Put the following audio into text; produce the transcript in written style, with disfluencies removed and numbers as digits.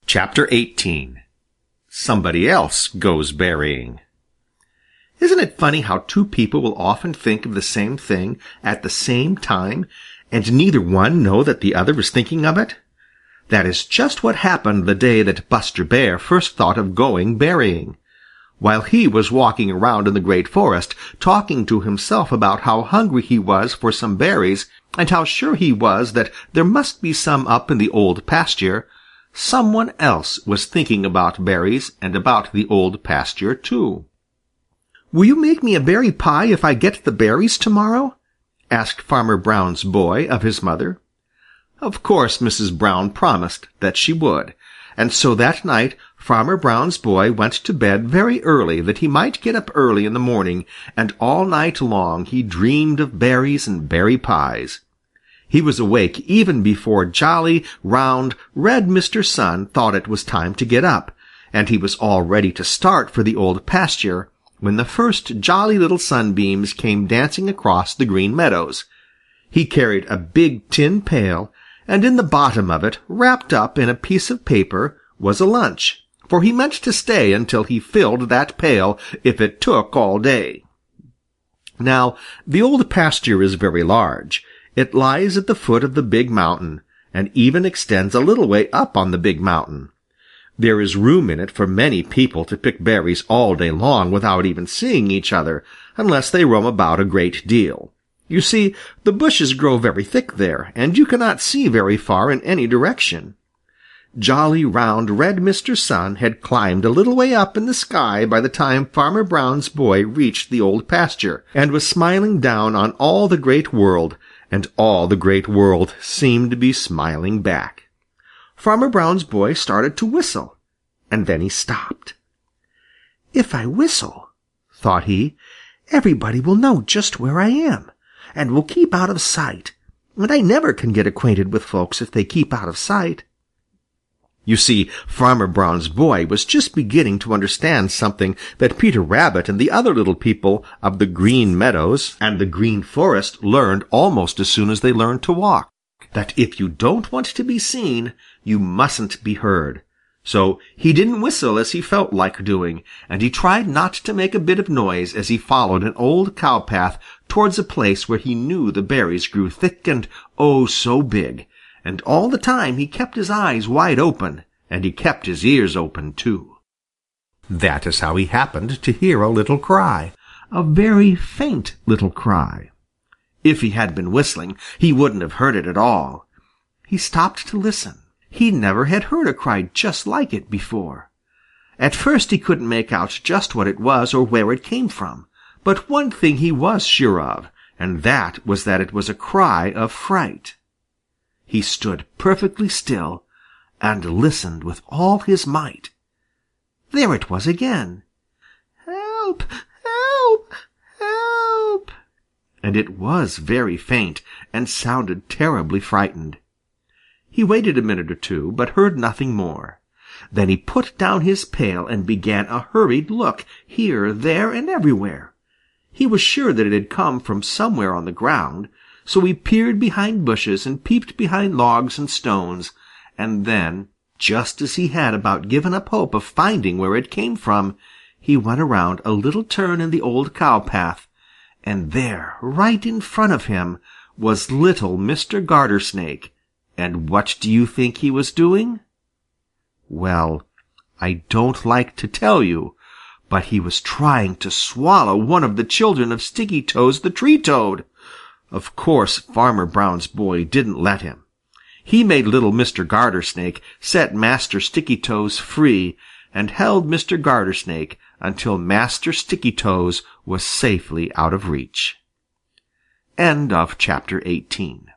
Chapter 18. Somebody else goes berrying. Isn't it funny how two people will often think of the same thing at the same time, and neither one know that the other is thinking of it? That is just what happened the day that Buster Bear first thought of going berrying. While he was walking around in the Great Forest, talking to himself about how hungry he was for some berries, and how sure he was that there must be some up in the Old Pasture, someone else was thinking about berries and about the Old Pasture too. "Will you make me a berry pie if I get the berries tomorrow?" asked Farmer Brown's boy of his mother. Of course Mrs. Brown promised that she would, and so that night Farmer Brown's boy went to bed very early that he might get up early in the morning, and all night long he dreamed of berries and berry pies. He was awake even before jolly, round, red Mr. Sun thought it was time to get up, and he was all ready to start for the Old Pasture when the first Jolly Little Sunbeams came dancing across the Green Meadows. He carried a big tin pail, and in the bottom of it, wrapped up in a piece of paper, was a lunch, for he meant to stay until he filled that pail if it took all day. Now, the Old Pasture is very large. It lies at the foot of the big mountain, and even extends a little way up on the big mountain. There is room in it for many people to pick berries all day long without even seeing each other, unless they roam about a great deal. You see, the bushes grow very thick there, and you cannot see very far in any direction. Jolly, round, red Mr. Sun had climbed a little way up in the sky by the time Farmer Brown's boy reached the Old Pasture, and was smiling down on all the Great World, and all the Great World seemed to be smiling back. Farmer Brown's boy started to whistle, and then he stopped. "If I whistle," thought he, "everybody will know just where I am, and will keep out of sight, and I never can get acquainted with folks if they keep out of sight." You see, Farmer Brown's boy was just beginning to understand something that Peter Rabbit and the other little people of the Green Meadows and the Green Forest learned almost as soon as they learned to walk, that if you don't want to be seen, you mustn't be heard. So he didn't whistle as he felt like doing, and he tried not to make a bit of noise as he followed an old cow path towards a place where he knew the berries grew thick and oh so big, and all the time he kept his eyes wide open, and he kept his ears open too. That is how he happened to hear a little cry, a very faint little cry. If he had been whistling, he wouldn't have heard it at all. He stopped to listen. He never had heard a cry just like it before. At first he couldn't make out just what it was or where it came from, but one thing he was sure of, and that was that it was a cry of fright. He stood perfectly still and listened with all his might. There it was again. "Help! Help! Help!" And it was very faint and sounded terribly frightened. He waited a minute or two, but heard nothing more. Then he put down his pail and began a hurried look here, there, and everywhere. He was sure that it had come from somewhere on the ground, so he peered behind bushes and peeped behind logs and stones, and then, just as he had about given up hope of finding where it came from, he went around a little turn in the old cow path, and there, right in front of him, was little Mr. Gartersnake. And what do you think he was doing? Well, I don't like to tell you, but he was trying to swallow one of the children of Stickytoes the Tree Toad. Of course, Farmer Brown's boy didn't let him. He made little Mr. Gartersnake set Master Stickytoes free and held Mr. Gartersnake until Master Stickytoes was safely out of reach. End of chapter 18.